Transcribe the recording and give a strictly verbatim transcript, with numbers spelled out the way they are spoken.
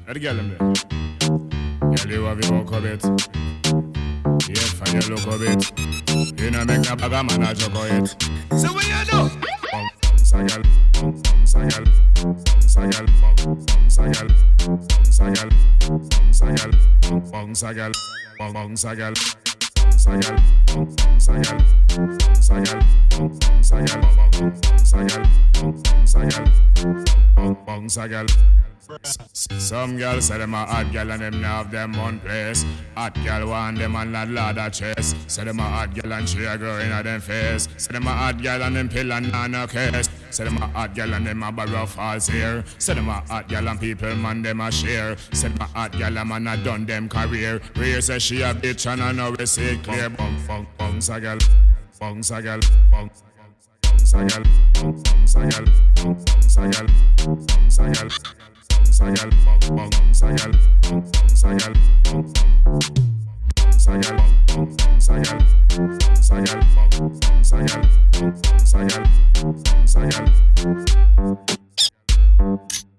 Let the girl them there. Girl, you have your walk a bit. Yeah, for your look a bit. You know make a bag of man a joke of it. So what you do? Bong, sagal, bong, sagal, sagal, bong, sagal, sagal, sagal, bong, sagal, bong, sagal, sagal, bong, sagal, sagal, bong, sagal, bong, sagal, bong, sagal, bong, bong, sagal. Some girls say them a hot girl and them now have them one place. Hot girl want them and not ladder chest. Say them a hot girl and she a grow in a them face. Say them a hot girl and them pill and nana case. Say them a hot girl and them a borrow false here. Say them a hot girl and people man them a share. Say them a hot girl and man a done them career. Rhea say she a bitch and I know we see it clear. Bong, bong, bong, sagal, bong, sagal, bong, sagal, bong, sagal, bong, sagal, bong, sagal. Sagal, bong, bong, sagal, bong, sagal, bong, sagal, bong, sagal, sagal, bong, sagal, bong, sagal, sagal.